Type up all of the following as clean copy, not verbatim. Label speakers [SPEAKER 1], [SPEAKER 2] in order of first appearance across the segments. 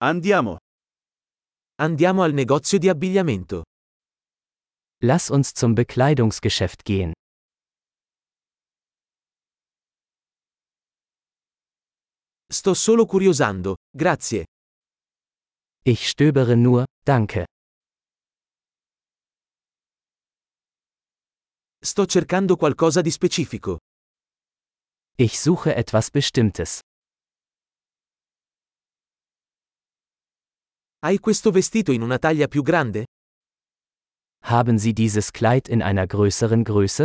[SPEAKER 1] Andiamo.
[SPEAKER 2] Andiamo al negozio di abbigliamento.
[SPEAKER 3] Lass uns zum Bekleidungsgeschäft gehen.
[SPEAKER 2] Sto solo curiosando, grazie.
[SPEAKER 3] Ich stöbere nur, danke.
[SPEAKER 2] Sto cercando qualcosa di specifico.
[SPEAKER 3] Ich suche etwas Bestimmtes.
[SPEAKER 2] Hai questo vestito in una taglia più grande?
[SPEAKER 3] Haben Sie dieses Kleid in einer größeren Größe?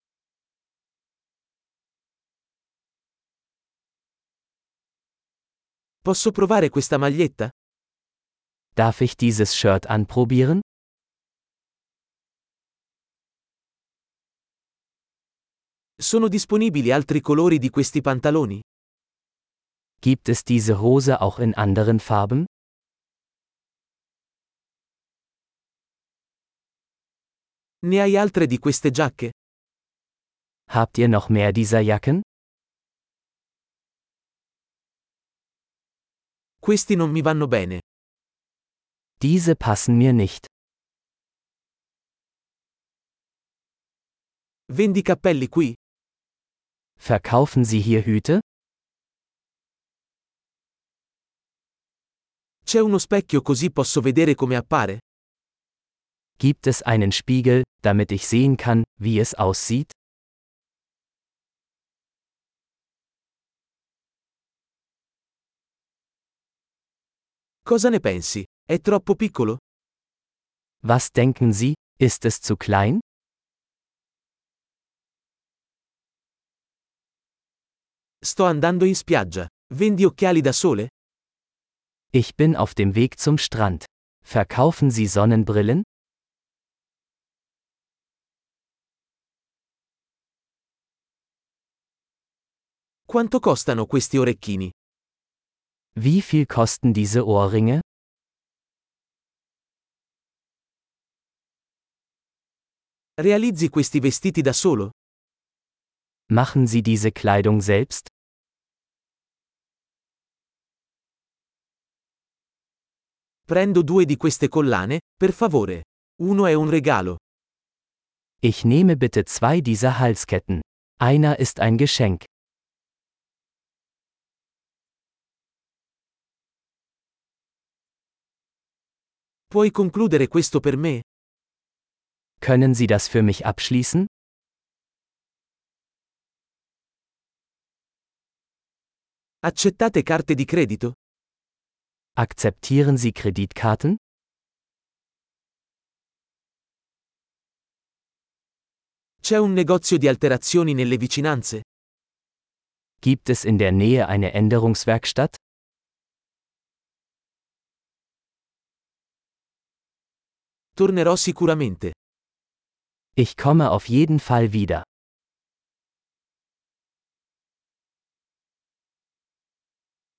[SPEAKER 2] Posso provare questa maglietta?
[SPEAKER 3] Darf ich dieses Shirt anprobieren?
[SPEAKER 2] Sono disponibili altri colori di questi pantaloni?
[SPEAKER 3] Gibt es diese Hose auch in anderen Farben?
[SPEAKER 2] Ne hai altre di queste giacche?
[SPEAKER 3] Habt ihr noch mehr dieser Jacken?
[SPEAKER 2] Questi non mi vanno bene.
[SPEAKER 3] Diese passen mir nicht.
[SPEAKER 2] Vendi cappelli qui?
[SPEAKER 3] Verkaufen Sie hier Hüte?
[SPEAKER 2] C'è uno specchio così posso vedere come appare?
[SPEAKER 3] Gibt es einen Spiegel, damit ich sehen kann, wie es aussieht?
[SPEAKER 2] Cosa ne pensi? È troppo piccolo?
[SPEAKER 3] Was denken Sie, ist es zu klein?
[SPEAKER 2] Sto andando in spiaggia. Vendi occhiali da sole?
[SPEAKER 3] Ich bin auf dem Weg zum Strand. Verkaufen Sie Sonnenbrillen?
[SPEAKER 2] Quanto costano questi orecchini?
[SPEAKER 3] Wie viel kosten diese Ohrringe?
[SPEAKER 2] Realizzi questi vestiti da solo?
[SPEAKER 3] Machen Sie diese Kleidung selbst?
[SPEAKER 2] Prendo 2 di queste collane, per favore. Uno è un regalo.
[SPEAKER 3] Ich nehme bitte 2 dieser Halsketten. Einer ist ein Geschenk.
[SPEAKER 2] Puoi concludere questo per me?
[SPEAKER 3] Können Sie das für mich abschließen?
[SPEAKER 2] Accettate carte di credito?
[SPEAKER 3] Akzeptieren Sie Kreditkarten?
[SPEAKER 2] C'è un negozio di alterazioni nelle vicinanze?
[SPEAKER 3] Gibt es in der Nähe eine Änderungswerkstatt?
[SPEAKER 2] Tornerò sicuramente.
[SPEAKER 3] Ich komme auf jeden Fall wieder.